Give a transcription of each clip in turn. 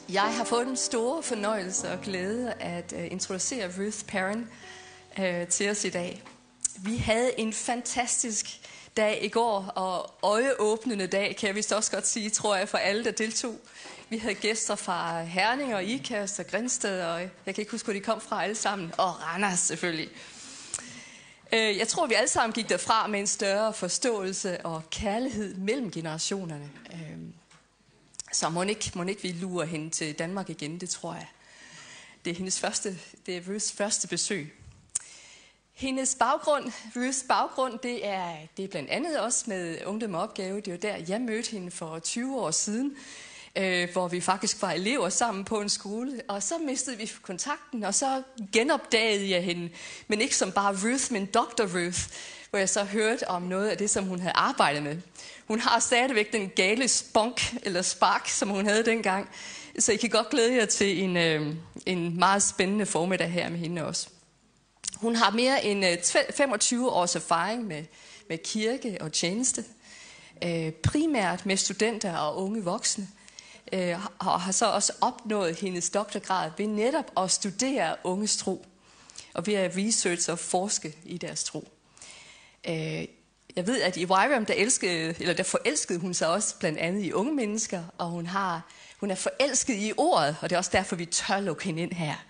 Jeg har fået den store fornøjelse og glæde at introducere Ruth Perrin til os i dag. Vi havde en fantastisk dag i går, og øjeåbnende dag, kan jeg vist også godt sige, tror jeg, for alle, der deltog. Vi havde gæster fra Herning og Ikast og Grindsted, og jeg kan ikke huske, hvor de kom fra alle sammen, og Randers selvfølgelig. Jeg tror, vi alle sammen gik derfra med en større forståelse og kærlighed mellem generationerne. Så må ikke vi lurer hende til Danmark igen, det tror jeg. Det er Ruths første besøg. Hendes baggrund, Ruths baggrund, det er blandt andet også med Ungdom og Opgave. Det var der, jeg mødte hende for 20 år siden, hvor vi faktisk var elever sammen på en skole. Og så mistede vi kontakten, og så genopdagede jeg hende. Men ikke som bare Ruth, men Dr. Ruth, hvor jeg så hørte om noget af det, som hun havde arbejdet med. Hun har stadigvæk den gale spunk, eller spark, som hun havde dengang. Så I kan godt glæde jer til en meget spændende formiddag her med hende også. Hun har mere end 25 års erfaring med kirke og tjeneste. Primært med studenter og unge voksne. Og har så også opnået hendes doktorgrad ved netop at studere unges tro. Og ved at researche og forske i deres tro. Jeg ved, at i YWAM, der forelskede hun sig også blandt andet i unge mennesker, og hun er forelsket i ordet, og det er også derfor, vi tør lukke hende ind her.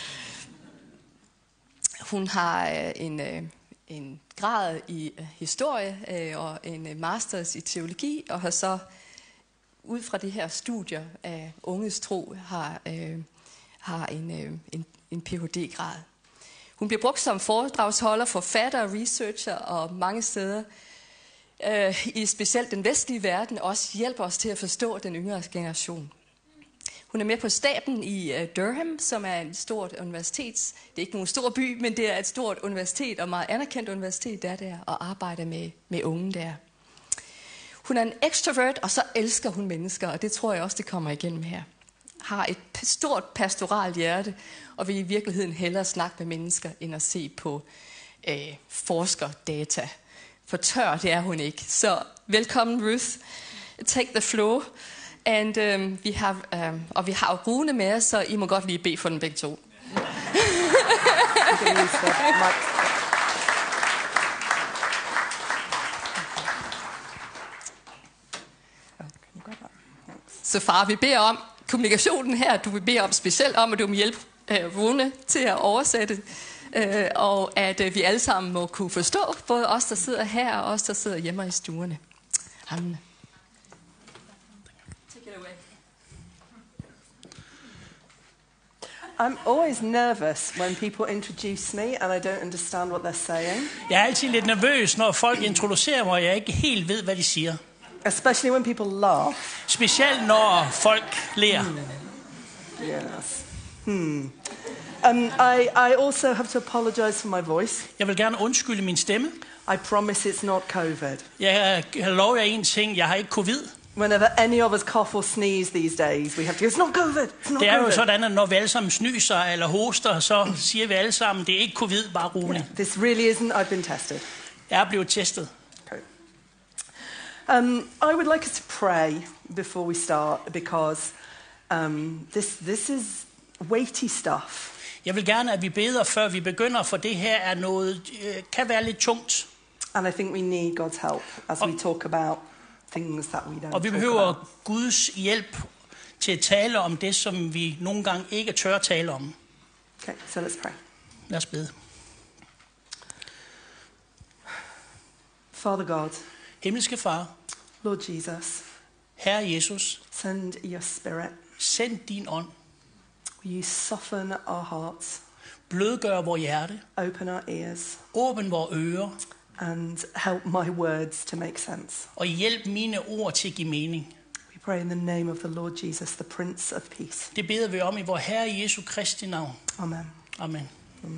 Hun har en grad i historie og en masters i teologi, og har så ud fra de her studier af unges tro har en Ph.D.-grad. Hun bliver brugt som foredragsholder, forfatter, researcher og mange steder i specielt den vestlige verden også hjælper os til at forstå den yngre generation. Hun er med på staben i Durham, som er et stort universitet. Det er ikke nogen stor by, men det er et stort universitet og meget anerkendt universitet der og arbejder med unge der. Hun er en extrovert, og så elsker hun mennesker, og det tror jeg også, det kommer igennem her. Har et stort pastoralt hjerte, og vil i virkeligheden hellere snakke med mennesker, end at se på forskerdata. For tør, det er hun ikke. Så velkommen, Ruth. Take the floor. And vi har Rune med os, så I må godt lige bede for den begge to. Så far, vi beder om kommunikationen her. Du vil bede om specielt om, at du må hjælpe Rune til at oversætte. Og at vi alle sammen må kunne forstå, både os, der sidder her, og os, der sidder hjemme i stuerne. Amen. I'm always nervous when people introduce me and I don't understand what they're saying. Jeg er altid lidt nervøs, når folk introducerer mig, og jeg ikke helt ved, hvad de siger. Especially when people laugh. Specielt når folk ler. Yes. I also have to apologize for my voice. Jeg vil gerne undskylde min stemme. I promise it's not COVID. Jeg lover jer en ting, jeg har ikke covid. Whenever any of us cough or sneeze these days, we have to go, it's not COVID, it's not Det er jo COVID. sådan, at når vi alle sammen snyser eller hoster, så siger vi alle sammen, det er ikke covid, bare roligt. Yeah, this really isn't, I've been tested. Jeg er blevet testet. Okay. I would like us to pray before we start, because this is weighty stuff. Jeg vil gerne, at vi beder, før vi begynder, for det her er noget, kan være lidt tungt. And I think we need God's help as we talk about things that we don't Og vi talk behøver about. Guds hjælp til at tale om det, som vi nogle gange ikke tør tale om. Okay, so let's pray. Lad os bede. Father God, Himmelske Far, Lord Jesus, Herre Jesus, send your spirit. send din ånd. Will you soften our hearts, Blødgør vores hjerte. open our ears, Åbn vores ører. and help my words to make sense. Og hjælp mine ord til at give mening. We pray in the name of the Lord Jesus, the Prince of Peace. Det beder vi om i vor Herre Jesu Kristi navn. Amen. Amen.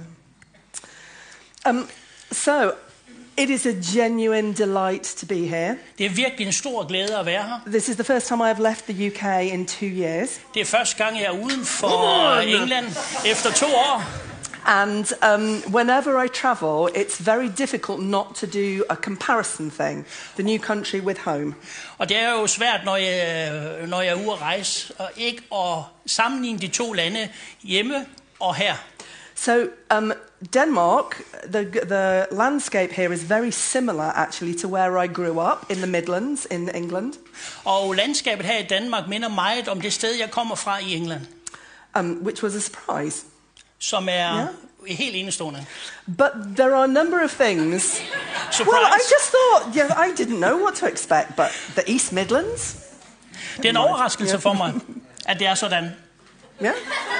Amen. So, it is a genuine delight to be here. Det er virkelig en stor glæde at være her. This is the first time I've left the UK in 2 years. Det er første gang, jeg er uden for England efter 2 år. And whenever I travel, it's very difficult not to do a comparison thing, the new country with home. Og det er jo svært, når jeg er ude at rejse, og ikke at sammenligne de to lande hjemme og her. So Denmark, the landscape here is very similar actually to where I grew up in the Midlands in England. Og landskabet her i Danmark minder meget om det sted, jeg kommer fra i England. Which was a surprise. Som er helt enestående. But there are a number of things. Surprise. Well, I just thought, I didn't know what to expect, but the East Midlands? Det er en overraskelse for mig, at det er sådan. Yeah.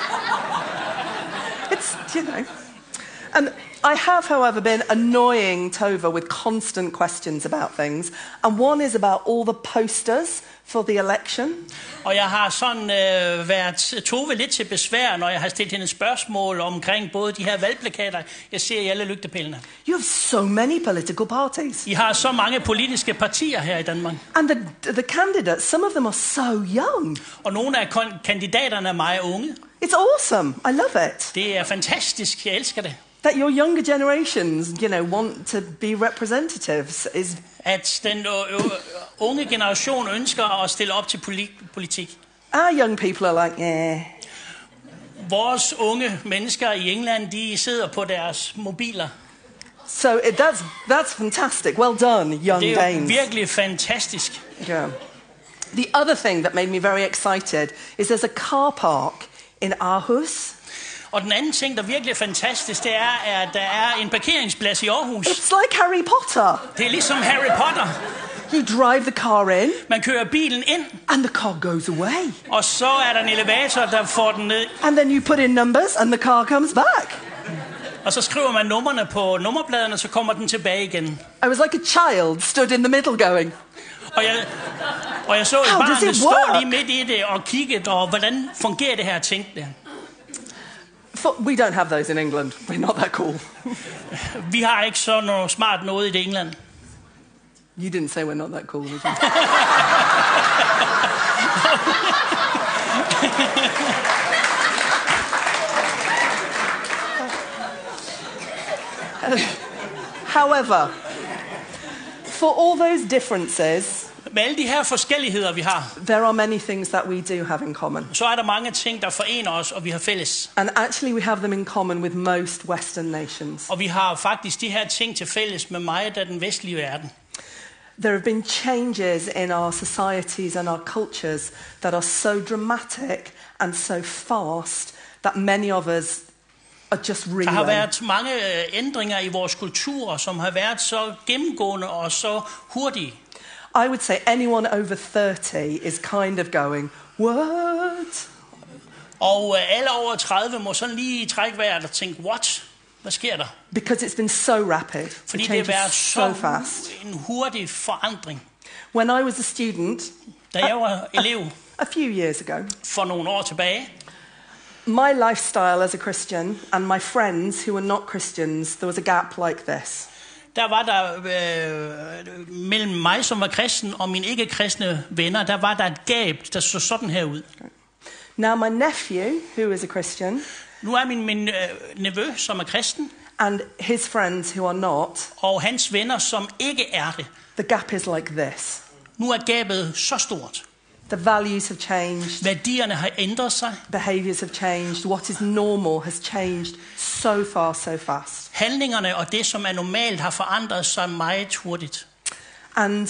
It's, And I have, however, been annoying Tova with constant questions about things. And one is about all the posters for the election. Og jeg har sådan været Tove lidt til besvær, når jeg har stillet hende spørgsmål omkring både de her valgplakater, jeg ser i alle lygtepælene. You have so many political parties. I har så mange politiske partier her i Danmark. And the candidates, some of them are so young. Og nogle af kandidaterne er meget unge. It's awesome. I love it. Det er fantastisk. Jeg elsker det. That your younger generations, want to be representatives is... At den unge generation ønsker at stille op til politik. Our young people are like, yeah. Vores unge mennesker i England, de sidder på deres mobiler. So that's fantastic. Well done, young Danes. Det er virkelig fantastisk. Yeah. The other thing that made me very excited is there's a car park in Aarhus. Og den anden ting, der virkelig er fantastisk, det er, at der er en parkeringsplads i Aarhus. It's like Harry Potter. Det er ligesom Harry Potter. You drive the car in. Man kører bilen ind. And the car goes away. Og så er der en elevator, der får den ned. And then you put in numbers, and the car comes back. Og så skriver man numrene på nummerpladen, og så kommer den tilbage igen. I was like a child stood in the middle going. Og jeg så et barn, der stod lige midt i det og kiggede, og hvordan fungerer det her, tænkte jeg. We don't have those in England. We're not that cool. Vi har ikke så noget smart noget i det England. You didn't say we're not that cool, did you? However, for all those differences, med alle de her forskelligheder, vi har, there are many things that we do have in common. Så er der mange ting, der forener os, og vi har fælles. And actually we have them in common with most Western nations. Og vi har faktisk de her ting til fælles med meget af den vestlige verden. There have been changes in our societies and our cultures that are so dramatic and so fast that many of us are just reeling. Der har været mange ændringer i vores kultur, som har været så gennemgående og så hurtige. I would say anyone over 30 is kind of going, what? Og alle over 30 må sådan lige trække vejret og tænke, what? Hvad sker der? Because it's been so rapid. Fordi det har været so fast. En hurtig forandring. When I was a student, da jeg var elev, a few years ago, for nogle år tilbage, my lifestyle as a Christian and my friends who were not Christians, there was a gap like this. Der var der mellem mig, som var kristen, og mine ikke-kristne venner, der var der et gab, der så sådan her ud. Now my nephew, who is a Christian, nu er min nevø, som er kristen, and his friends who are not, og hans venner, som ikke er det. The gap is like this. Nu er gabet så stort. The values have changed. Værdierne har ændret sig. Behaviors have changed. What is normal has changed so far, so fast. Handlingerne og det, som er normalt, har forandret sig meget hurtigt. And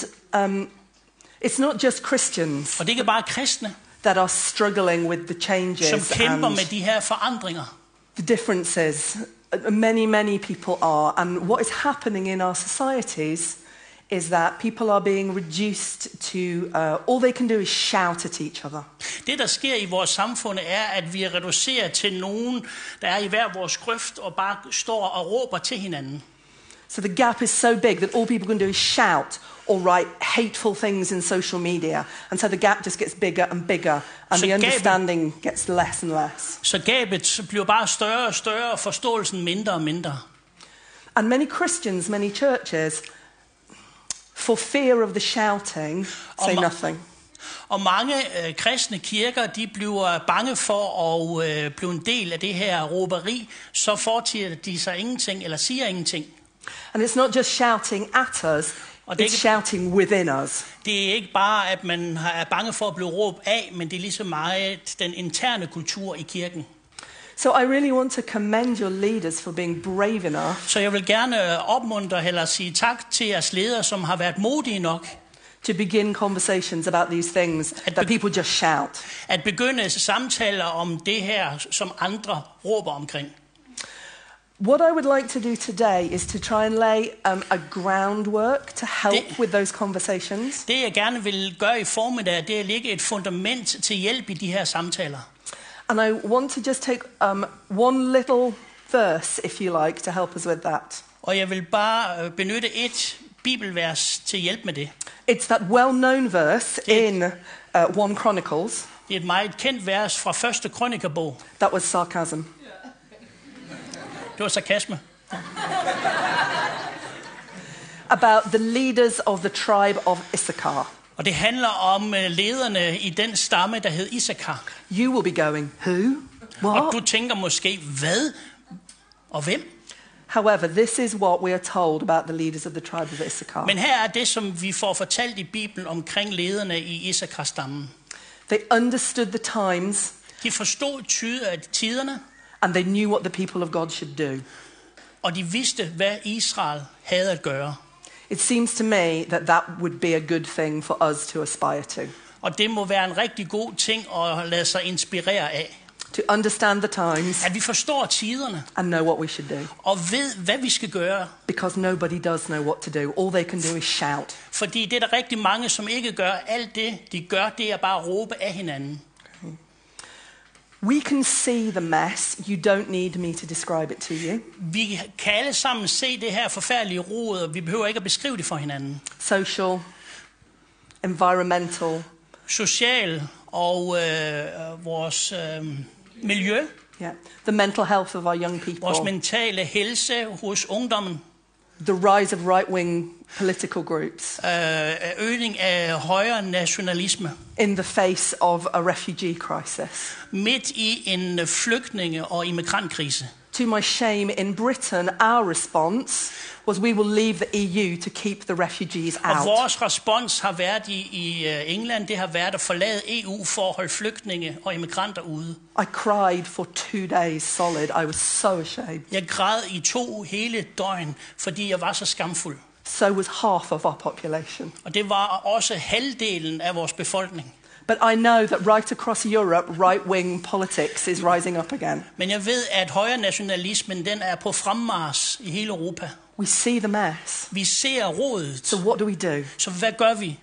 it's not just Christians. Og det er ikke bare kristne, that are struggling with the changes. Som kæmper med de her forandringer. The differences. Many people are. And what is happening in our societies is that people are being reduced to all they can do is shout at each other. Det, der sker i vores samfund, er, at vi er reduceret til nogen, der er i hver vores grøft og bare står og råber til hinanden. So the gap is so big that all people can do is shout or write hateful things in social media. And so the gap just gets bigger and bigger, and the understanding gets less and less. Så gabet bliver bare større og større, og forståelsen mindre og mindre. And many Christians, many churches, for fear of the shouting, say nothing. Og mange kristne kirker, de bliver bange for at blive en del af det her råberi, så foretager de sig ingenting eller siger ingenting. And it's not just shouting at us, Og det er it's ikke- shouting within us. Det er ikke bare, at man er bange for at blive råbt af, men det er lige så meget den interne kultur i kirken. So I really want to commend your leaders for being brave enough Så jeg vil gerne opmuntre eller sige tak til jeres ledere, som har været modige nok to begin conversations about these things that people just shout. at begynde samtaler om det her, som andre råber omkring. What I would like to do today is to try and lay a groundwork to help with those conversations. Det jeg gerne vil gøre i formiddag, det er at lægge et fundament til hjælp i de her samtaler. And I want to just take one little verse, if you like, to help us with that. Og jeg vil bare benytte et bibelvers til hjælp med det. It's that well-known verse in 1 Chronicles. Det er et meget kendt vers fra første krønikerbog. That was sarcasm. Det var sarkasme. About the leaders of the tribe of Issachar. Og det handler om lederne i den stamme, der hed Issachar. You will be going, who? Og What? du tænker måske, hvad? Og hvem? However, this is what we are told about the leaders of the tribe of Issachar. Men her er det, som vi får fortalt i Bibelen omkring lederne i Issachar-stammen. They understood the times De forstod tiderne, and they knew what the people of God should do. og de vidste, hvad Israel havde at gøre. It seems to me that would be a good thing for us to aspire to. Og det må være en rigtig god ting at lade sig inspirere af. To understand the times At vi forstår tiderne and know what we should do. og ved, hvad vi skal gøre. Because nobody does know what to do. All they can do is shout. Fordi det er der rigtig mange, som ikke gør. Alt det, de gør, det er bare at råbe af hinanden. We can see the mess. You don't need me to describe it to you. Vi kan alle sammen se det her forfærdelige rod, og vi behøver ikke at beskrive det for hinanden. Social, environmental, Social og vores miljø, yeah. The mental health of our young vores people. mentale helse hos ungdommen, The rise of right-wing political groups øgning af højre nationalisme, in the face of a refugee crisis. midt i en flygtninge- og immigrantkrise. To my shame, in Britain, our response was we will leave the EU to keep the refugees Og out. vores respons har været i England, det har været at forlade EU for at holde flygtninge og immigranter ude. I cried for 2 days solid. I was so ashamed. Jeg græd i 2 hele døgn, fordi jeg var så skamfuld. So was half of our population. Og det var også halvdelen af vores befolkning. But I know that right across Europe, right-wing politics is rising up again. Men jeg ved, at højre nationalismen, den er på fremmars i hele Europa. We see the mess. Vi ser rodet. So what do we do? Så hvad gør vi?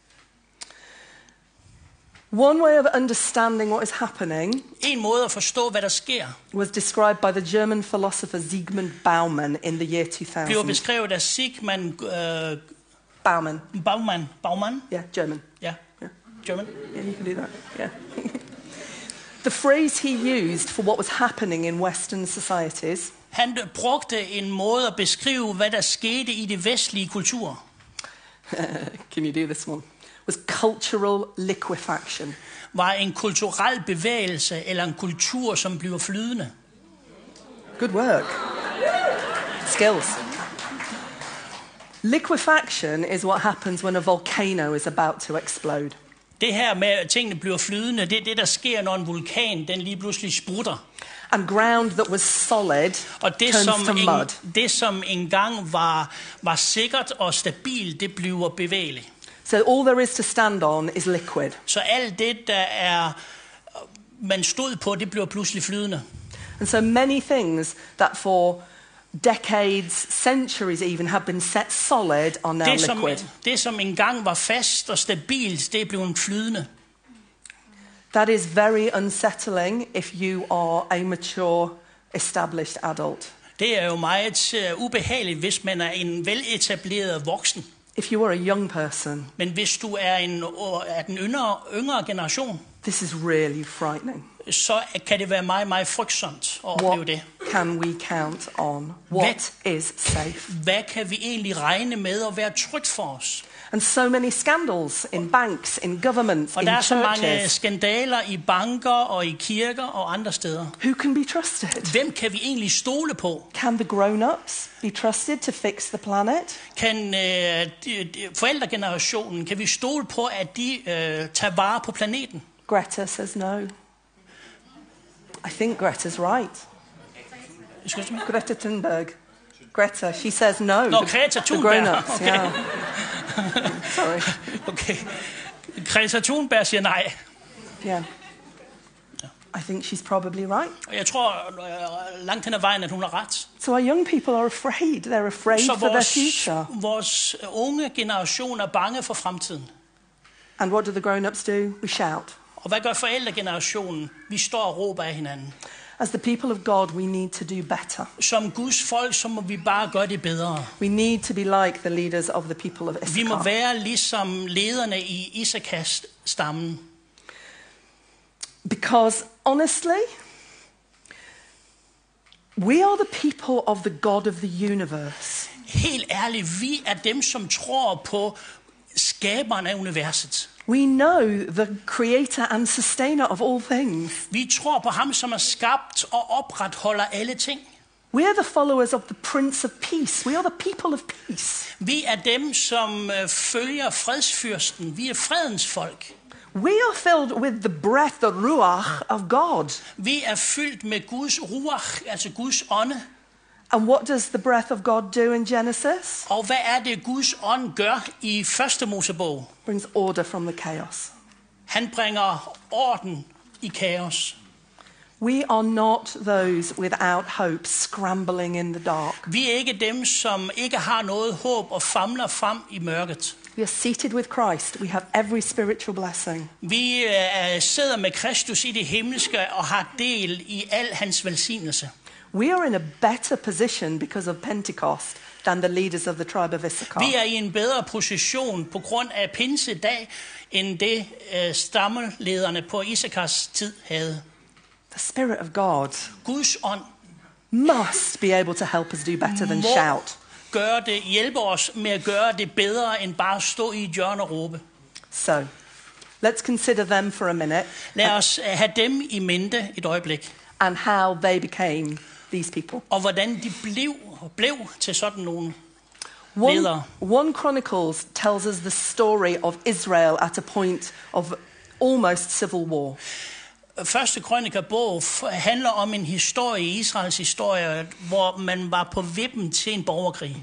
One way of understanding what is happening En måde at forstå, hvad der sker, was described by the German philosopher Zygmunt Bauman in the year bliver 2000. beskrevet af Sigmund Bauman. Bauman? Yeah, German. Ja, German. Yeah, you can do that. Yeah. The phrase he used for what was happening in Western societies Han brugte en måde at beskrive, hvad der skete i det vestlige kultur. can you do this one? Was cultural liquefaction. Var en kulturel bevægelse eller en kultur, som bliver flydende. Good work. Skills. Liquefaction is what happens when a volcano is about to explode. Det her med, at tingene bliver flydende, det er det, der sker, når en vulkan den lige pludselig sprutter. And ground that was solid Og det, turns to mud. som engang var sikkert og stabilt, det bliver bevægeligt. So all there is to stand on is liquid. Så alt det, man stod på, det bliver pludselig flydende. And so many things that for decades, centuries even, have been set solid are now liquid. Det, som engang var fast og stabilt, det er blevet flydende. That is very unsettling if you are a mature, established adult. Det er jo meget ubehageligt, hvis man er en veletableret voksen. If you are a young person, Men hvis du er den yngre generation, this is really frightening. så kan det være meget, meget frygtsomt at opleve det. can we count on? What is safe? Hvad kan vi egentlig regne med at være trygt for os? And so many scandals in banks, in governments, Og in der er så mange churches. skandaler i banker og i kirker og andre steder. Who can be trusted? Hvem kan vi egentlig stole på? Can the grown-ups be trusted to fix the planet? Kan forældregenerationen, kan vi stole på, at de tager vare på planeten? Greta says no. I think Greta's right. Excuse me? Greta Thunberg. Greta, she says no. Nå, Greta The Thunberg. grown-ups, Okay. yeah. Sorry. Okay. Greta Thunberg siger nej. Yeah. I think she's probably right. Og jeg tror langt hen ad vejen, at hun har ret. So our young people are afraid. They're afraid Så for their future. vores unge generation er bange for fremtiden. And what do the grown-ups do? We shout. Og hvad gør forældregenerationen? Vi står og råber af hinanden. As the people of God, we need to do better. Som Guds folk, så må vi bare gøre det bedre. We need to be like the leaders of the people of Vi må Issachar. være ligesom lederne i Isakars stammen. Because honestly, we are the people of the God of the universe. Helt ærligt, vi er dem, som tror på skaberen af universet. We know the creator and sustainer of all things. Vi tror på ham, som er skabt og opretholder alle ting. We are the followers of the Prince of Peace. We are the people of peace. Vi er dem, som følger fredsfyrsten. Vi er fredens folk. We are filled with the breath, the ruach of God. Vi er fyldt med Guds ruach, altså Guds ånde. And what does the breath of God do in Genesis? Og hvad er det, Guds ånd gør i første Mosebog? Brings order from the chaos. Han bringer orden i kaos. We are not those without hope, scrambling in the dark. Vi er ikke dem, som ikke har noget håb og famler frem i mørket. We are seated with Christ. We have every spiritual blessing. Vi sidder med Kristus i det himmelske og har del i al hans velsignelse. We are in a better position because of Pentecost than the leaders of the tribe of Issachar. Vi er i en bedre position på grund af pinsedag, end det stammelederne på Isakars tid havde. The Spirit of God Guds ånd must be able to help us do better than må shout. hjælpe os med at gøre det bedre, end bare at stå i et hjørne og råbe. So, let's consider them for a minute Lad os have dem i mente et øjeblik, and how they became these people. og hvordan de blev til sådan nogle One, ledere. 1 Chronicles tells us the story of Israel at a point of almost civil war. Første krønikerbog handler om en historie, Israels historie, hvor man var på vippen til en borgerkrig.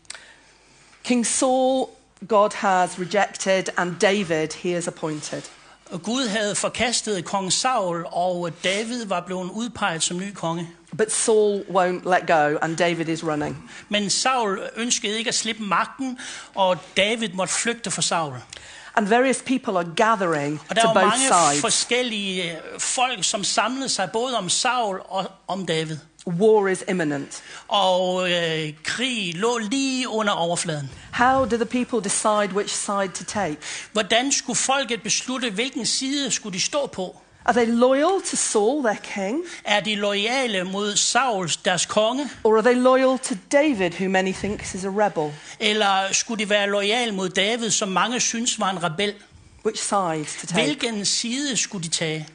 King Saul, God has rejected, and David, he is appointed. Og Gud havde forkastet kong Saul, og David var blevet udpeget som ny konge. But Saul won't let go, and David is running. Men Saul ønskede ikke at slippe magten, og David måtte flygte fra Saul. And various people are gathering Og der to var both mange sides. forskellige folk, som samlede sig både om Saul og om David. War is imminent. Og krig lå lige under overfladen. How do the people decide which side to take? Hvordan skulle folket beslutte, hvilken side skulle de stå på? Are they loyal to Saul, their king? Er de loyale mod Saul, deres konge? Or are they loyal to David, who many think is a rebel? Eller skulle de være loyale mod David, som mange synes var en rebel? Which side to take? Hvilken side skulle de tage?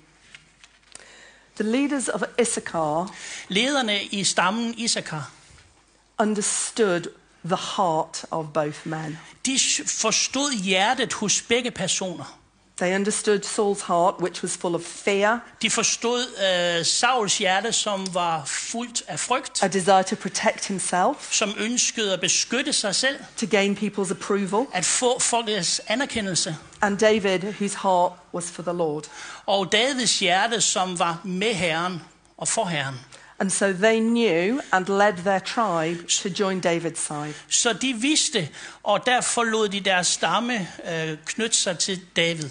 The leaders of Issachar Lederne i stammen Isakar, understood the heart of both men. de forstod hjertet hos begge personer. They understood Saul's heart, which was full of fear, De forstod Sauls hjerte, som var fuldt af frygt, a desire to protect himself, som ønskede at beskytte sig selv, to gain people's approval, at få folkets anerkendelse. and David, whose heart was for the Lord. Og Davids hjerte, som var med Herren og for Herren. And so they knew and led their tribe to join David's side. Så de vidste, og derfor lod de deres stamme knytte sig til David.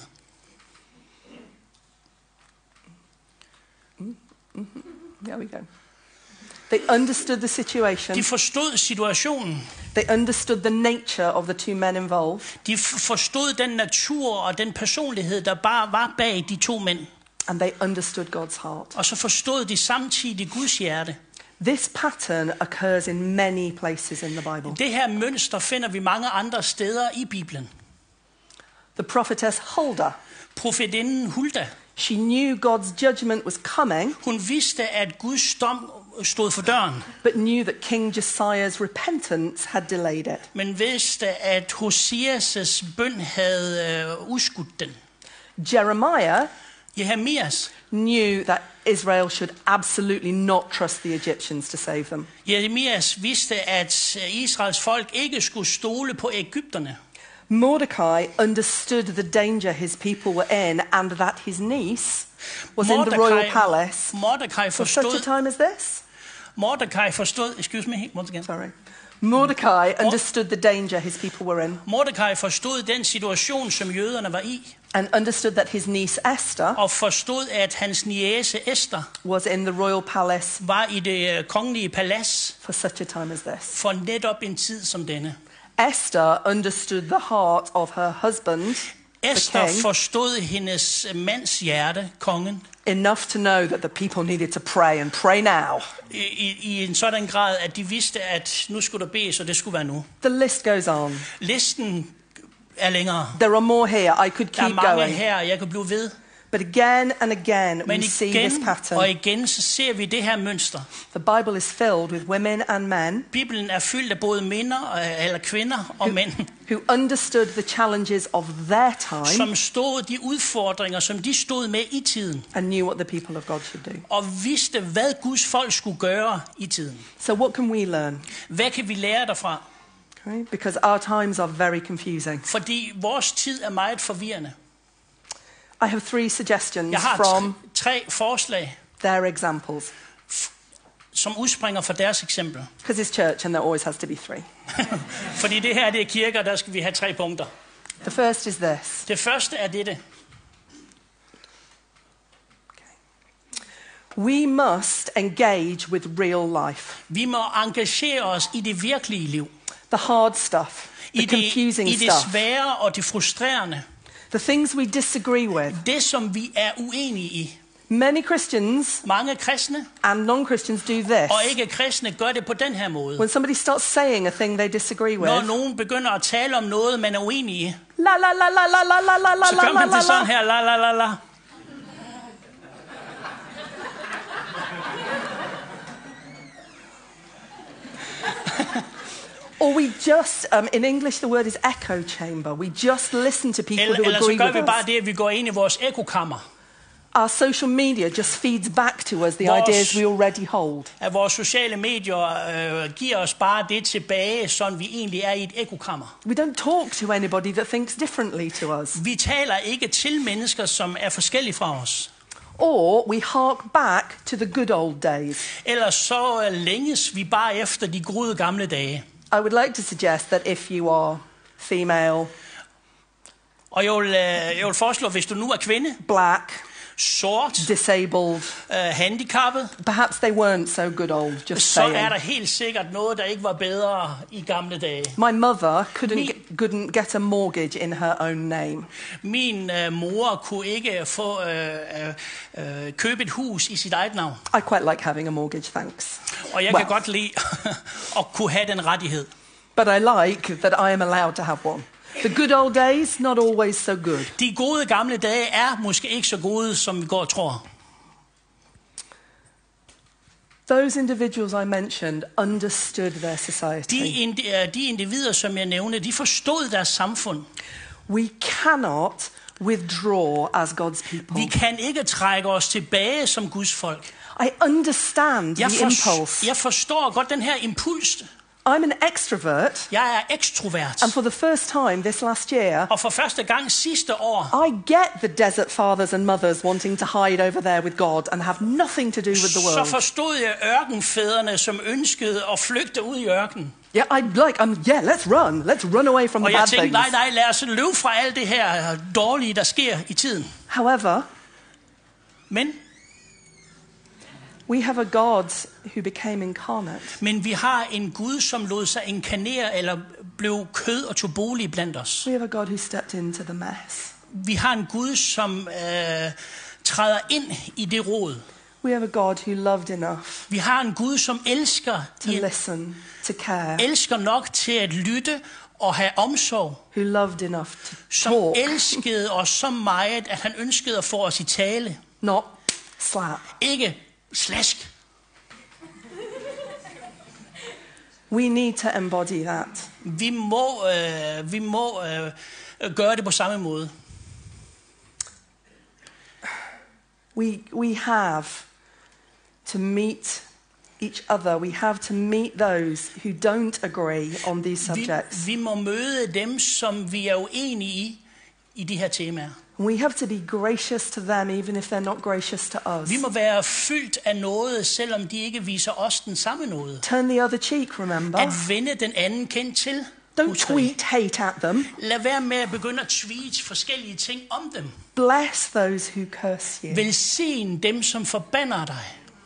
There we go. They understood the situation. De forstod situationen. They understood the nature of the two men involved. De forstod den natur og den personlighed, der bare var bag de to mænd. And they understood God's heart. Og så forstod de samtidig Guds hjerte. This pattern occurs in many places in the Bible. Det her mønster finder vi mange andre steder i Bibelen. The prophetess Huldah, Profetinden Hulda, she knew God's judgment was coming, hun vidste, at Guds dom stod for døren, but knew that King Josiah's repentance had delayed it. men vidste, at Hosias' bøn havde udskudt den. Jeremiah Jeremias knew that Israel should absolutely not trust the Egyptians to save them. Jeremias vidste, at Israels folk ikke skulle stole på ægypterne. Mordecai understood the danger his people were in, and that his niece was in the royal palace Mordecai for such a forstod, time as this. excuse me, once again. Sorry. Mordecai understood the danger his people were in, Mordecai forstod den situation, som jøderne var i, and understood that his niece Esther og forstod, at hans niece Esther was in the royal palace var i det kongelige palads for such a time as this. for netop en tid som denne. Esther understood the heart of her husband, Esther the king, forstod hendes mands hjerte, kongen, enough to know that the people needed to pray and pray now. i en sådan grad, at de vidste, at nu skulle der bedes, og det skulle være nu. The list goes on. Listen er længere. There are more here. I could Der er keep mange going. her, jeg kan blive ved. But again and again, Men we see this igen pattern. og igen, så ser vi det her mønster. The Bible is filled with women and men Bibelen er fyldt af både eller kvinder og mænd, who understood the challenges of their time som stod de udfordringer, som de stod med i tiden, and knew what the people of God should do. og vidste, hvad Guds folk skulle gøre i tiden. So what can we learn? Hvad kan vi lære derfra? Okay? Because our times are very confusing. Fordi vores tid er meget forvirrende. I have 3 suggestions Jeg har from tre forslag, their examples. som udspringer fra deres eksempel. Because it's church and there always has to be 3. Fordi det her det er kirker, der skal vi have 3 punkter. The first is this. Det første er dette. We must engage with real life. Vi må engagere os i det virkelige liv. The hard stuff. The confusing I det stuff. svære og det frustrerende. The things we disagree with. Det, som vi er uenige i. Many Christians Mange kristne and non-Christians do this. og ikke kristne gør det på den her måde. When somebody starts saying a thing they disagree with, Når nogen begynder at tale om noget, man er uenig i, la la la la la la la la la så gør man la det sådan la. her, la la la la. Or we just, in English the word is echo chamber. We just listen to people who Eller så agree gør with vi bare us. det, at vi går ind i vores ekokammer. Our social media just feeds back to us the Vores- ideas we already hold. At vores sociale medier giver os bare det tilbage, sådan vi egentlig er i et ekokammer. We don't talk to anybody that thinks differently to us. Vi taler ikke til mennesker, som er forskellige fra os. Or we hark back to the good old days. Ellers så længes vi bare efter de gode gamle dage. I would like to suggest that if you are female, Og jeg vil foreslå, hvis du nu er kvinde, black, sort, disabled, handicappet, perhaps they weren't so good old, just så er saying. der helt sikkert noget, der ikke var bedre i gamle dage. My mother couldn't get a mortgage in her own name. Min mor kunne ikke få købe et hus i sit eget navn. I quite like having a mortgage, thanks. Og jeg kan godt lide at kunne have den rettighed. But I like that I am allowed to have one. The good old days, not always so good. De gode gamle dage er måske ikke så gode, som vi går og tror. Those individuals I mentioned understood their society. De individer, som jeg nævnte, de forstod deres samfund. We cannot withdraw as God's people. Vi kan ikke trække os tilbage som Guds folk. I understand the impulse. Jeg forstår godt den her impuls. I'm an extrovert, Jeg er ekstrovert. and for the first time this last year, Og for første gang sidste år, I get the desert fathers and mothers wanting to hide over there with God and have nothing to do with the så world. forstod jeg ørkenfædrene, som ønskede at flygte ud i ørkenen. Yeah, let's run away from Og the jeg bad tænkte, things. nej, lad os løbe fra alt det her dårlige, der sker i tiden. However, Men we have a God who became incarnate. vi har en Gud, som lod sig inkarnere eller blev kød og tog bolig blandt os. We have a God who stepped into the mess. Vi har en Gud, som træder ind i det rod. We have a God who loved enough Vi har en Gud, som elsker, to listen, to care, elsker nok til at lytte og have omsorg. who loved enough to Som talk, elskede os så meget, at han ønskede at få os i tale. not slap. Ikke slask. We need to embody that. Vi må gøre det på samme måde. We have to meet each other. We have to meet those who don't agree on these subjects. Vi må møde dem, som vi er uenige i de her temaer. We have to be gracious to them, even if they're not gracious to us. Vi må være fyldt af noget, selvom de ikke viser os den samme noget. Turn the other cheek, remember? At vende den anden kendt til. Don't Husker I? tweet hate at them. Lad være med at begynde at tweete forskellige ting om dem. Bless those who curse you. Velsign dem, som forbander dig.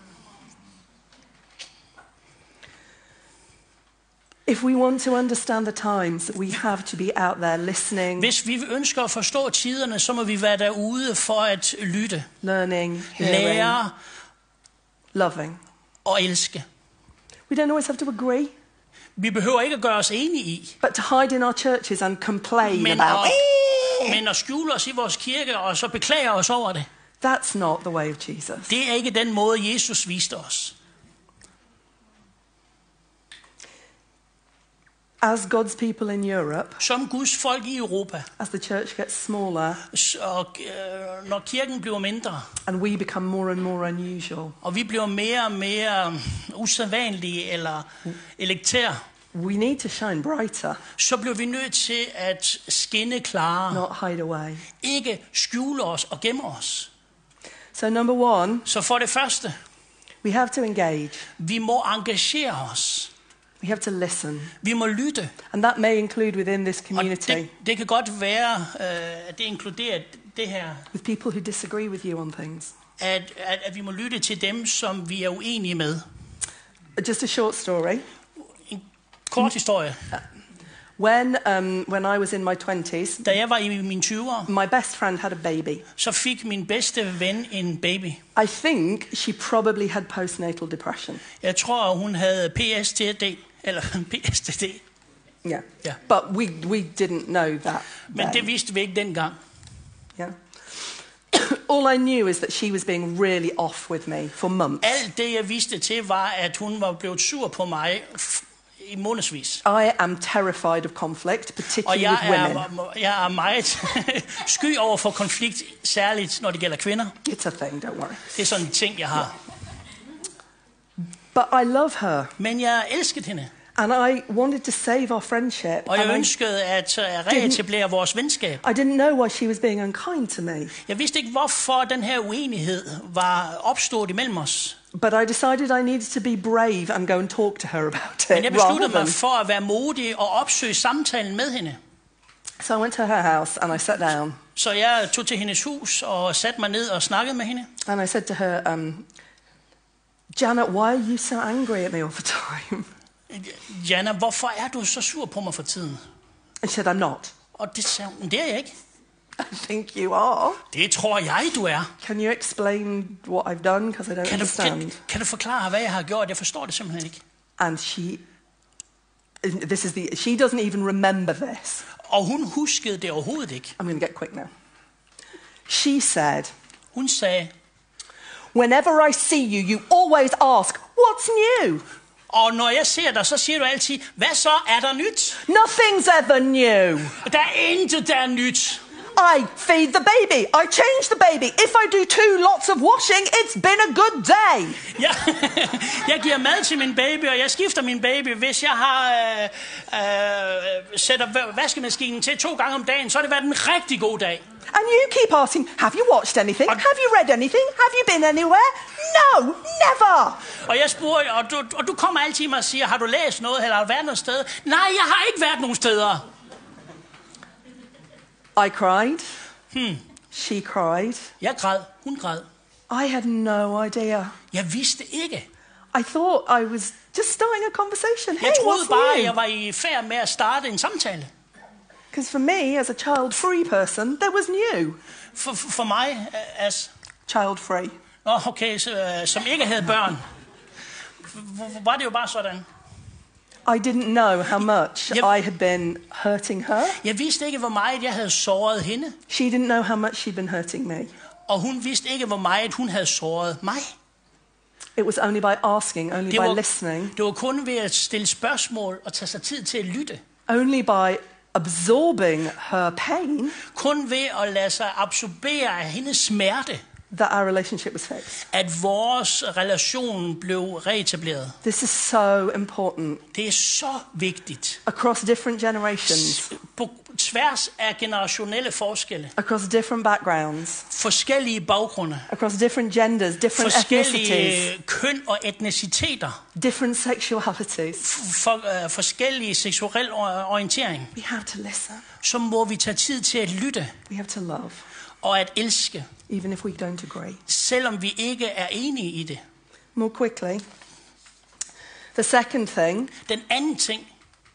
If we want to understand the times, we have to be out there listening, Hvis vi ønsker at forstå tiderne, så må vi være derude for at lytte, learning, hearing, lære loving. og elske. We don't always have to agree, Vi behøver ikke at gøre os enige i, but to hide in our churches and complain men about men at skjule os i vores kirke og så beklage os over det. that's not the way of Jesus. Det er ikke den måde, Jesus viste os. As God's people in Europe, Som Guds folk i Europa, as the church gets smaller og når kirken bliver mindre, and we become more and more unusual, og vi bliver mere og mere usædvanlige eller elektære, we need to shine brighter, så bliver vi nødt til at skinne klarere. not hide away. Ikke skjule os og gemme os. So number one, Så for det første, we have to engage. vi må engagere os. We have to listen. Vi må lytte. And that may include within this Og community det kan godt være, at det inkluderer det her, with people who disagree with you on things. at vi må lytte til dem, som vi er uenige med. Just a short story. En kort historie. When I was in my 20s, Da jeg var i mine 20'ere, my best friend had a baby. så fik min bedste ven en baby. I think she probably had postnatal depression. Jeg tror, hun havde PSTD, eller PSTD. Yeah. Ja. But we didn't know that. Men det vidste vi ikke dengang. Yeah. All I knew is that she was being really off with me for months. Alt det, jeg vidste til, var, at hun var blevet sur på mig i månedsvis. I am terrified of conflict, Og particularly with women. jeg er meget sky over for konflikt, særligt når det gælder kvinder. It's a thing, don't worry. Det er sådan en ting, jeg har. But I love her, Men jeg elskede hende, and I wanted to save our friendship. og jeg and ønskede at reetablere vores venskab. I didn't know why she was being unkind to me. Jeg vidste ikke, hvorfor den her uenighed var opstået imellem os. But I decided I needed to be brave and go and talk to her about Men it. jeg Rather besluttede mig than... for at være modig og opsøge samtalen med hende. So I went to her house and I sat down Så jeg tog til hendes hus og satte mig ned og snakkede med hende. and I said to her, Janet, why are you so angry at me all the time? Jana, hvorfor er du så sur på mig for tiden? And she said, I'm not. Og det sagde hun, det er jeg ikke. I think you are. Det tror jeg, du er. Can you explain what I've done? Because I don't understand. Kan du forklare, hvad jeg har gjort? Jeg forstår det simpelthen ikke. And she doesn't even remember this. Og hun huskede det overhovedet ikke. I'm going to get quick now. She said, Hun sagde, whenever I see you, you always ask, what's new? og når jeg ser dig, så siger du altid, hvad så er der nyt? Nothing's ever new. Der er intet, der er nyt. I feed the baby. I change the baby. If I do 2 lots of washing, it's been a good day. Jeg giver mad til min baby, og jeg skifter min baby. Hvis jeg har sætter vaskemaskinen til 2 gange om dagen, så har det været en rigtig god dag. And you keep asking, have you watched anything? Have you read anything? Have you been anywhere? No, never. Og jeg spurgte, og du kommer altid mig og siger, har du læst noget, eller har du været noget sted? Nej, jeg har ikke været nogen steder. I cried. She cried. Jeg græd, hun græd. I had no idea. Jeg vidste ikke. I thought I was just starting a conversation. Hey, Jeg troede what's bare, at new? jeg var i færd med at starte en samtale. Because for me, as a child-free person, there was new. For mig, Child-free. Okay, som ikke havde børn. Var det jo bare sådan. I didn't know how much Yep. I had been hurting her. Jeg vidste ikke, hvor meget jeg havde såret hende. She didn't know how much she'd been hurting me. Og hun vidste ikke, hvor meget hun havde såret mig. It was only by asking, only by listening, Det var kun ved at stille spørgsmål og tage sig tid til at lytte. only by absorbing her pain Kun ved at lade sig absorbere af hendes smerte, that our relationship was fixed. at vores relation blev reetableret. This is so important. Det er så vigtigt. Across different generations, På tværs af generationelle forskelle, across different backgrounds, forskellige baggrunde, across different genders, different ethnicities, forskellige køn og etniciteter, different sexualities. forskellige seksuel orientering, We have to listen. så må vi tage tid til at lytte We have to love, og at elske, even if we don't agree. selvom vi ikke er enige i det. More quickly, the second thing, Den anden ting,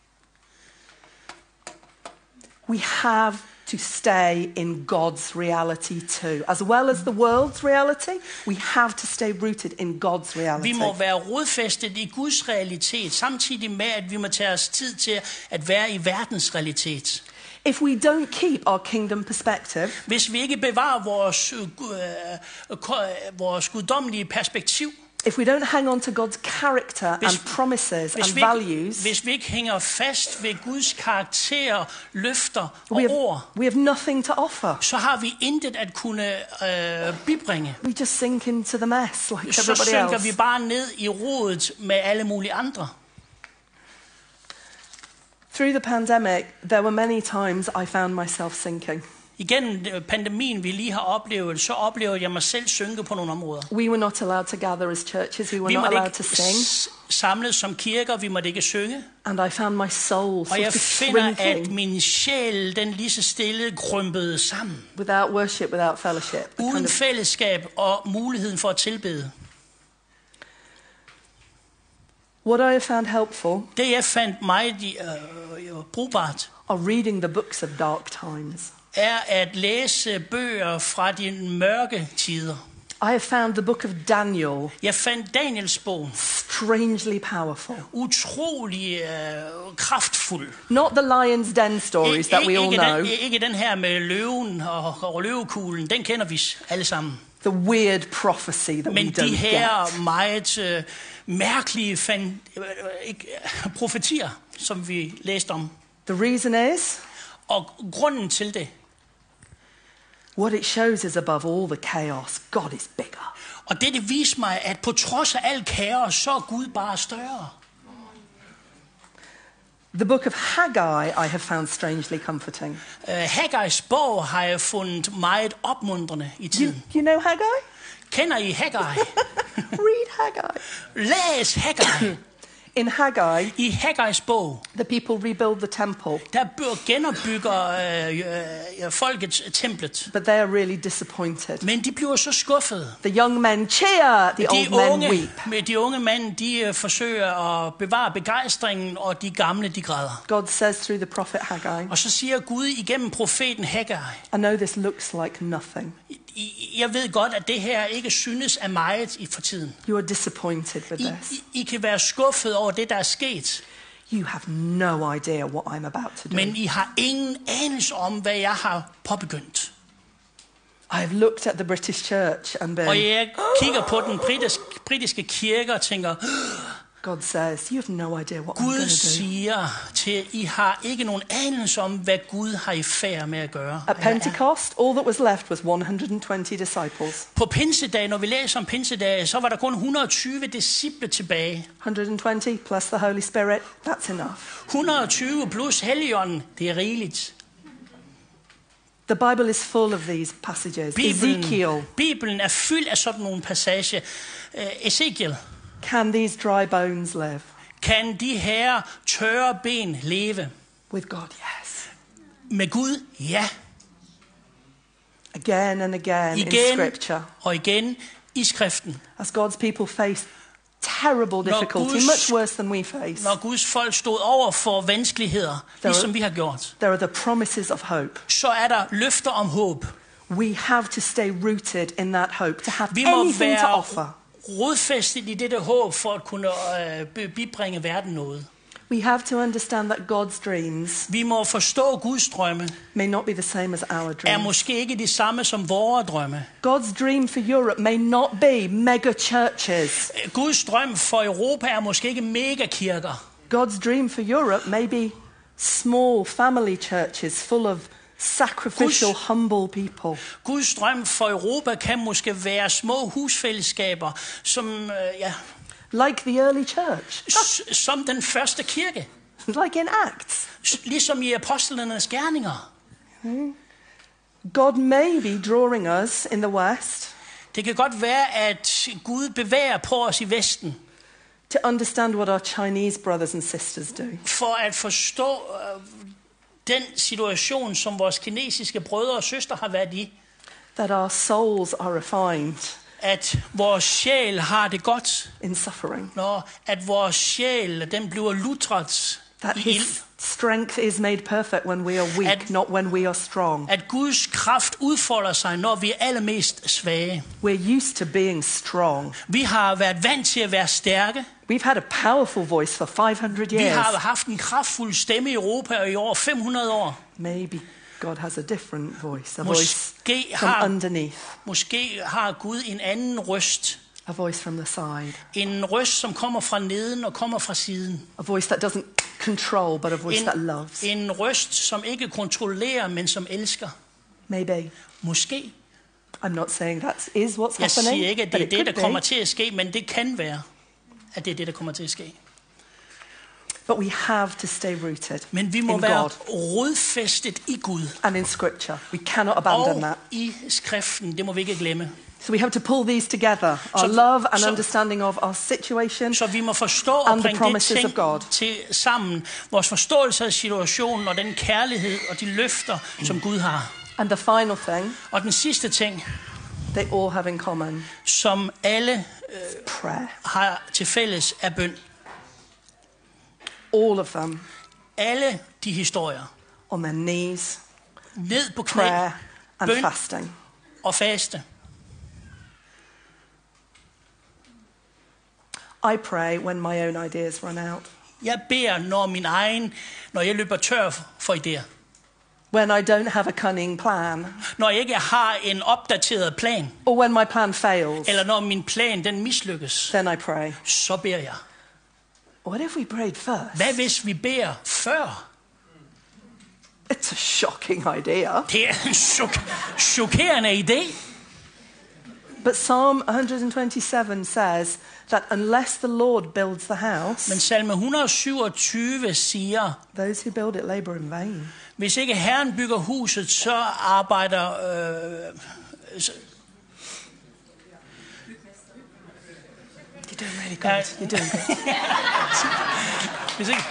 we have to stay in God's reality too. As well as the world's reality, we have to stay rooted in God's vi reality. må være rodfæstet i Guds realitet, samtidig med, at vi må tage os tid til at være i verdens realitet. If we don't keep our kingdom perspective, Hvis vi ikke bevarer vores guddommelige perspektiv, if we don't hang on to God's character and promises and values, hvis vi ikke hænger fast ved Guds karakter, løfter og ord, we have nothing to offer. så har vi intet at kunne bibringe. We just sink into the mess like Så everybody synker vi else. bare ned i rodet med alle mulige andre. Through the pandemic, there were many times I found myself sinking. Igennem pandemien, vi lige har oplevet, så oplevede jeg mig selv synke på nogle områder. We were not allowed to gather as churches. We were Vi not måtte allowed to sing. ikke samles som kirker, vi måtte ikke synge. And I found my soul Og sort jeg of finder, at shrinking min sjæl, den lige så stille krympede sammen. without worship, without fellowship. A Uden kind of fællesskab og muligheden for at tilbede. what I have found helpful Det jeg fandt meget brugbart, are reading the books of dark times. er at læse bøger fra de mørke tider. I have found the book of Daniel Jeg fandt Daniels bog strangely powerful. utrolig kraftfuld. Not the lion's den stories that we all know. Ikke den her med løven og løvekuglen, den kender vi alle sammen. The weird prophecy that we Men de don't her get. meget mærkelige profetier, som vi læste om. The reason is, Og grunden til det, what it shows is above all the chaos, God is bigger. og det viser mig, at på trods af al kaos, så er Gud bare større. The book of Haggai I have found strangely comforting. Haggais bog har jeg fundet meget opmuntrende i tiden. You know Haggai? Kender I Haggai? Read Haggai. Læs Haggai. In Haggai, I Haggais bog, the people rebuild the temple, der genopbygger folket templet. but they are really disappointed. Men de bliver så skuffede. The young men cheer, the old men weep. De unge mænd, de forsøger at bevare begejstringen, og de gamle, de græder. God says through the prophet Haggai, Og så siger Gud igennem profeten Haggai, I know this looks like nothing. jeg ved godt, at det her ikke synes af meget for tiden. You are disappointed with this. I kan være skuffet over det, der er sket, You have no idea what I'm about to do. men I har ingen anelse om, hvad jeg har påbegyndt. I have looked at the British church and Og been, jeg kigger på den britiske kirke og tænker, God says, you have no idea what I'm going Gud to do. siger til, I har ikke nogen anelse om, hvad Gud har i færd med at gøre. At Pentecost, all that was left was 120 disciples. På pinsedag, når vi læser om pinsedag, så var der kun 120 disciple tilbage. 120 plus the Holy Spirit, that's enough. 120 plus Helligånden, det er rigeligt. The Bible is full of these passages. Ezekiel, Bibelen er fyldt af sådan nogle passager. Ezekiel, can these dry bones live? kan de her tørre ben leve? With God, yes. Med Gud, ja. Again and again in Igen Scripture, og igen i skriften. as God's people face terrible difficulty, much worse than we face, Når Guds folk stod over for vanskeligheder, ligesom vi har gjort, there are the promises of hope. så er der løfter om håb. We have to stay rooted in that hope, to have Vi må anything to være offer. rodfæstet i dette håb for at kunne bibringe verden noget. We have to understand that God's dreams Vi må forstå Guds drømme may not be the same as our er dreams. måske ikke de samme som vores drømme. God's dream for Europe may not be mega churches. Guds drøm for Europa er måske ikke megakirker. God's dream for Europe may be small family churches full of sacrificial, humble people. Guds drøm for Europa kan måske være små husfællesskaber, som, Like the early church. som den første kirke. Like in Acts. Ligesom i apostlenes gerninger. God may be drawing us in the West Det kan godt være, at Gud bevæger på os i Vesten, to understand what our Chinese brothers and sisters do. for at forstå den situation, som vores kinesiske brødre og søstre har været i. That our souls are refined At vores sjæl har det godt, in suffering. når at vores sjæl, den bliver lutret That i his ild. strength is made perfect when we are weak, not when we are strong. At Guds kraft udfolder sig, når vi er allermest svage. We're used to being strong. Vi har været vant til at være stærke. We've had a powerful voice for 500 Vi years. har haft en kraftfuld stemme i Europa og i over 500 år. Maybe God has a different voice, a voice Måske from har, underneath, måske har Gud en anden røst. a voice from the side, En røst, som kommer fra neden og kommer fra siden. a voice that doesn't control, but a voice that loves. En røst, som ikke kontrollerer, men som elsker. Maybe. Måske. I'm not saying that is what's Jeg siger happening, ikke, at but det er it det, der could kommer be. til at ske, men det kan være, at det er det, der kommer til at ske. But we have to stay rooted Men vi må in være God rodfæstet i Gud and in Scripture. We cannot abandon og that. i skriften. Det må vi ikke glemme. So we have to pull these together, our Så- love and så- understanding of our situation. Så vi må forstå And og the bringe det promises ting of God. til sammen. Vores forståelse af situationen og den kærlighed og de løfter, som Gud har. And the final thing Og den sidste ting, they all have in common, som alle prayer. har til fælles, er bøn. All of them Alle de historier. on their knees, Ned på knæ, prayer and bøn fasting. og faste. I pray when my own ideas run out. Jeg beder, når jeg løber tør for idéer. When I don't have a cunning plan, Når jeg ikke har en opdateret plan, or when my plan fails, eller når min plan den mislykkes, then I pray. så beder jeg. What if we prayed first? Hvad hvis vi beder før? It's a shocking idea. Det er en chokerende idé. But Psalm 127 says that unless the Lord builds the house, Men salme 127 siger, those who build it labor in vain. hvis ikke Herren bygger huset, så arbejder... You're doing really good. You're doing good. hvis ikke,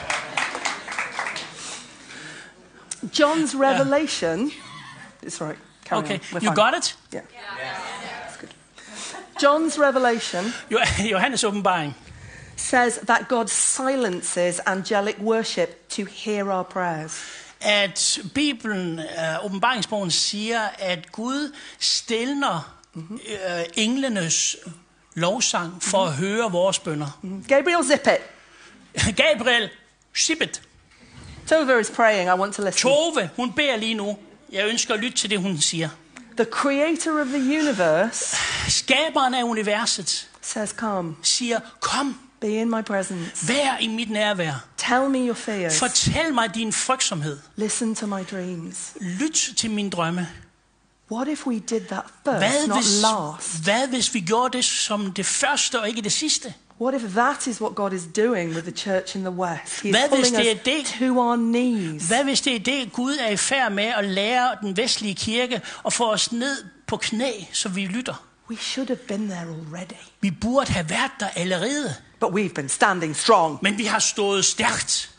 John's revelation. It's right. Carry okay, on. We're you fine. got it? Yeah. That's good. John's revelation Johannes åbenbaring says that God silences angelic worship to hear our prayers. at Bibelen, åbenbaringsbogen siger, at Gud stilner englenes lovsang for at høre vores bønner. Gabriel, zip it. Gabriel, Sibet, Tova is praying. I want to listen. Tove, hun beder lige nu. Jeg ønsker at lytte til det, hun siger. The creator of the universe Skaberen af universet says, come, siger, kom, be in my presence. vær i mit nærvær. Tell me your fears. Fortæl mig din frygtsomhed. Listen to my dreams. Lyt til mine drømme. What if we did that first, not last? Hvad hvis vi gjorde det som det første og ikke det sidste? What if that is what God is doing with the church in the West? He is Hvad hvis pulling det er us det? to our knees. Hvad hvis det er det, Gud er i færd med at lære den vestlige kirke og få os ned på knæ, så vi lytter? We should have been there already. Vi burde have været der allerede, But we've been standing strong. men vi har stået stærkt.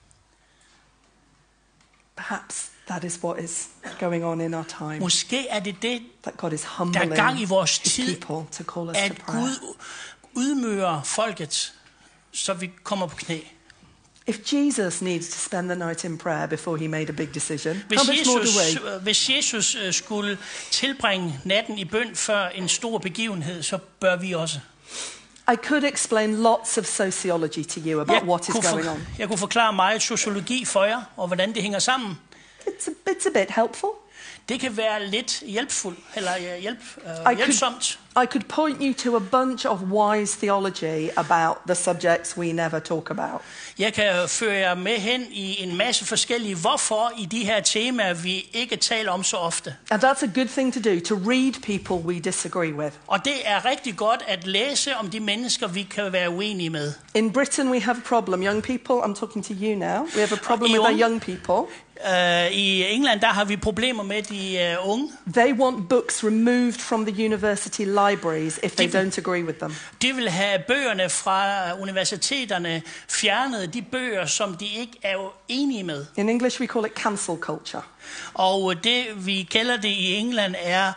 Perhaps that is what is going on in our time. Måske er det det, That God is der humbling er gang i vores his tid, people to call us to at prayer. Gud ydmyger folket, så vi kommer på knæ. If Jesus needs to spend the night in prayer before he made a big decision, how much more do we? Hvis Jesus skulle tilbringe natten i bøn før en stor begivenhed, så bør vi også. I could explain lots of sociology to you about what is going on. Jeg kunne forklare meget sociologi for jer, og hvordan det hænger sammen. It's a bit helpful. Det kan være lidt hjælpsomt. I could point you to a bunch of wise theology about the subjects we never talk about. Jeg kan føre jer med hen i en masse forskellige hvorfor i de her temaer, vi ikke taler om så ofte. And that's a good thing to do, to read people we disagree with. Og det er rigtig godt at læse om de mennesker, vi kan være uenige med. In Britain we have a problem. Young people, I'm talking to you now. We have a problem with our young people. I England, der har vi problemer med de unge. They want books removed from the university libraries if they don't agree with them. De vil have bøgerne fra universiteterne fjernet, de bøger, som de ikke er enige med. In English we call it cancel culture. Og det, vi kalder det i England, er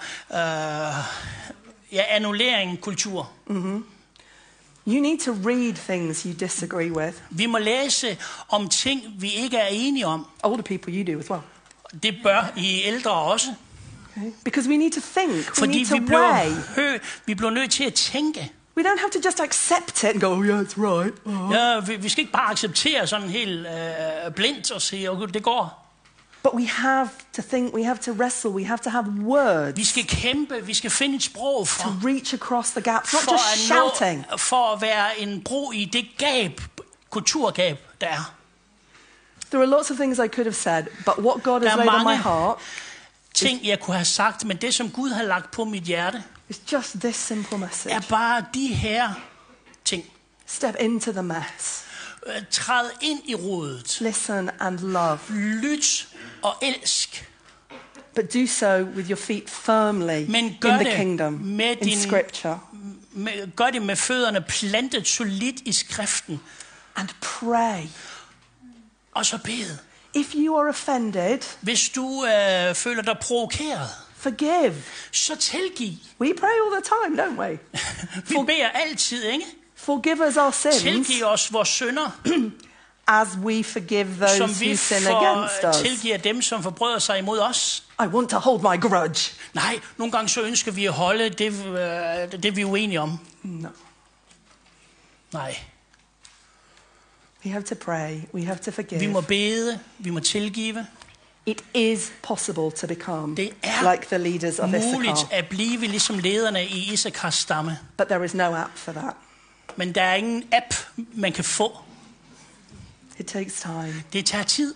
annullering kultur. Mm-hmm. You need to read things you disagree with. Vi må læse om ting, vi ikke er enige om. Older people, you do as well. Det bør I ældre også. Okay. Because we need to think. Fordi we need to weigh. Vi bliver nødt til at tænke. We don't have to just accept it and go, oh yeah, it's right. Ja, vi skal ikke bare acceptere sådan helt blindt og sige, okay, det går. But we have to think, we have to wrestle, we have to have words. Vi skal kæmpe, vi skal finde et sprog for. To reach across the gaps, not just shouting. For at være en bro i det gab, kulturgab, der er. There are lots of things I could have said, but what God has laid on my heart. Ting jeg kunne have sagt, men det som Gud har lagt på mit hjerte, is just this simple message. Er bare de her ting. Step into the mess. Træd ind i rodet. Listen and love. Lyt og elsk. But do so with your feet firmly in the kingdom, in scripture. Gør det med fødderne plantet solidt i skriften. And pray. Og så bed. If you are offended, hvis du føler dig provokeret, forgive. Så tilgiv. We pray all the time, don't we? Vi beder altid, ikke? Forgive us our sins. Tilgiv os vores synder. As we forgive those who sin against us. Tilgiver dem, som forbryder sig imod os. I want to hold my grudge. Nej, nogle gange så ønsker vi at holde det vi er uenige om. No. Nej. We have to pray. We have to forgive. Vi må bede. Vi må tilgive. It is possible to become like the leaders of Issachar. Muligt at blive ligesom lederne i Issachars stamme. But there is no app for that. Men der er ingen app man kan få. It takes time. Det tager tid.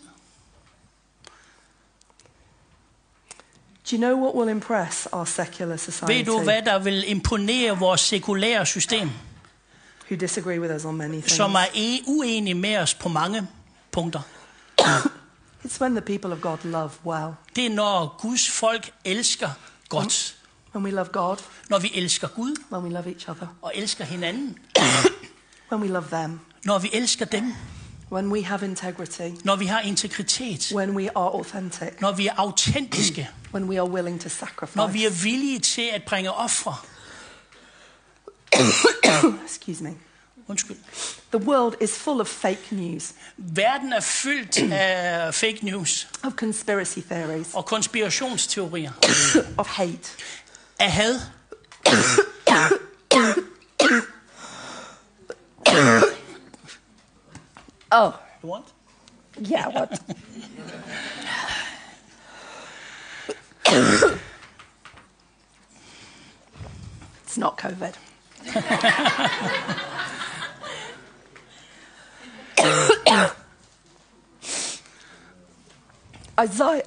Do you know what will impress our secular society? Ved du hvad der vil imponere vores sekulære system? Who disagree with us on many things. Som er uenige med os på mange punkter. It's when the people of God love well. Det er når Guds folk elsker godt. When we love God. Når vi elsker Gud. When we love each other. Og elsker hinanden. When we love them. Når vi elsker dem. When we have integrity. Når vi har integritet. When we are authentic. Når vi er autentiske. When we are willing to sacrifice. Når vi er villige til at bringe ofre. Excuse me. Undskyld. The world is full of fake news. Verden er fyldt af fake news. Of conspiracy theories. Og konspirationsteorier. Of hate. Af had. Oh. You want? Yeah, what? It's not COVID. Isaiah.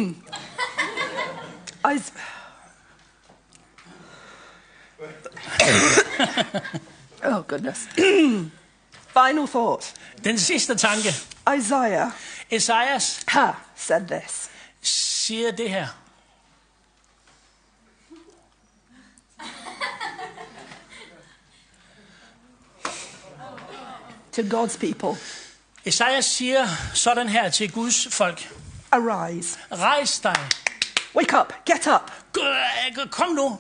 Oh goodness. Final thought. Den sidste tanke. Isaiah. Esajas said this. Siger det her. To God's people. Esajas siger sådan her til Guds folk. Arise. Rejs dig. Wake up. Get up. Kom nu.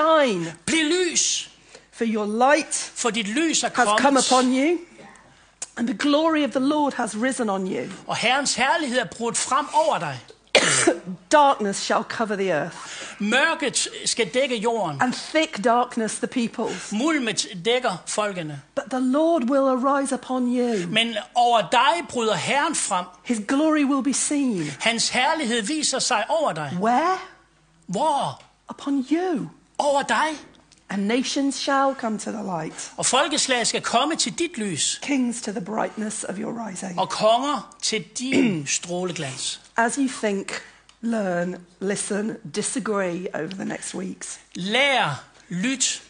Shine. Bliv lys. For your light for dit lys er has come upon you. And the glory of the Lord has risen on you. Og Herrens herlighed er brudt frem over dig. Darkness shall cover the earth, Mørket skal dække jorden. and thick darkness the peoples. Mulmet dækker folkene. But the Lord will arise upon you. Men over dig bryder Herren frem. His glory will be seen. Hans herlighed viser sig over dig. Where? Hvor? Upon you. Over dig. And nations shall come to the light. Og folkeslag skal komme til dit lys. Kings to the brightness of your rising. Og konger til din stråleglans. As you think, learn, listen, disagree over the next weeks. Lær, lyt.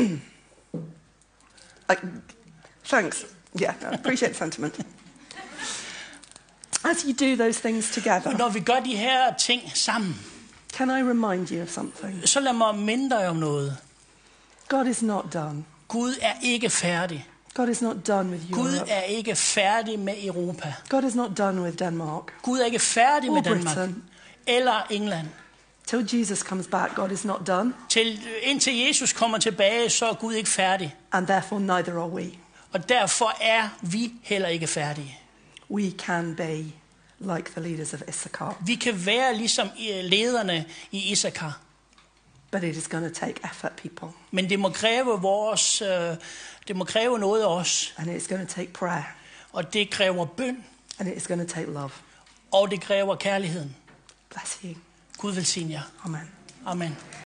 Thanks. Yeah, I appreciate the sentiment. As you do those things together, Når vi gør de her ting sammen, can I remind you of something? så lad mig minde dig om noget. God is not done. Gud er ikke færdig. God is not done with Gud Europe. er ikke færdig med Europa. God is not done with Denmark. Gud er ikke færdig med Or Danmark. Britain. Eller England. Till Jesus comes back, God is not done, Indtil Jesus kommer tilbage, så er Gud ikke færdig. and therefore neither are we. Og derfor er vi heller ikke færdige. We can be like the leaders of Issachar, Vi kan være ligesom lederne i Issachar. but it is going to take effort, people, Men det må kræve noget af os. and it's going to take prayer, Og det kræver bøn. and it is going to take love. Og det kræver kærligheden. Bless you. Gud velsigne jer. Amen. Amen.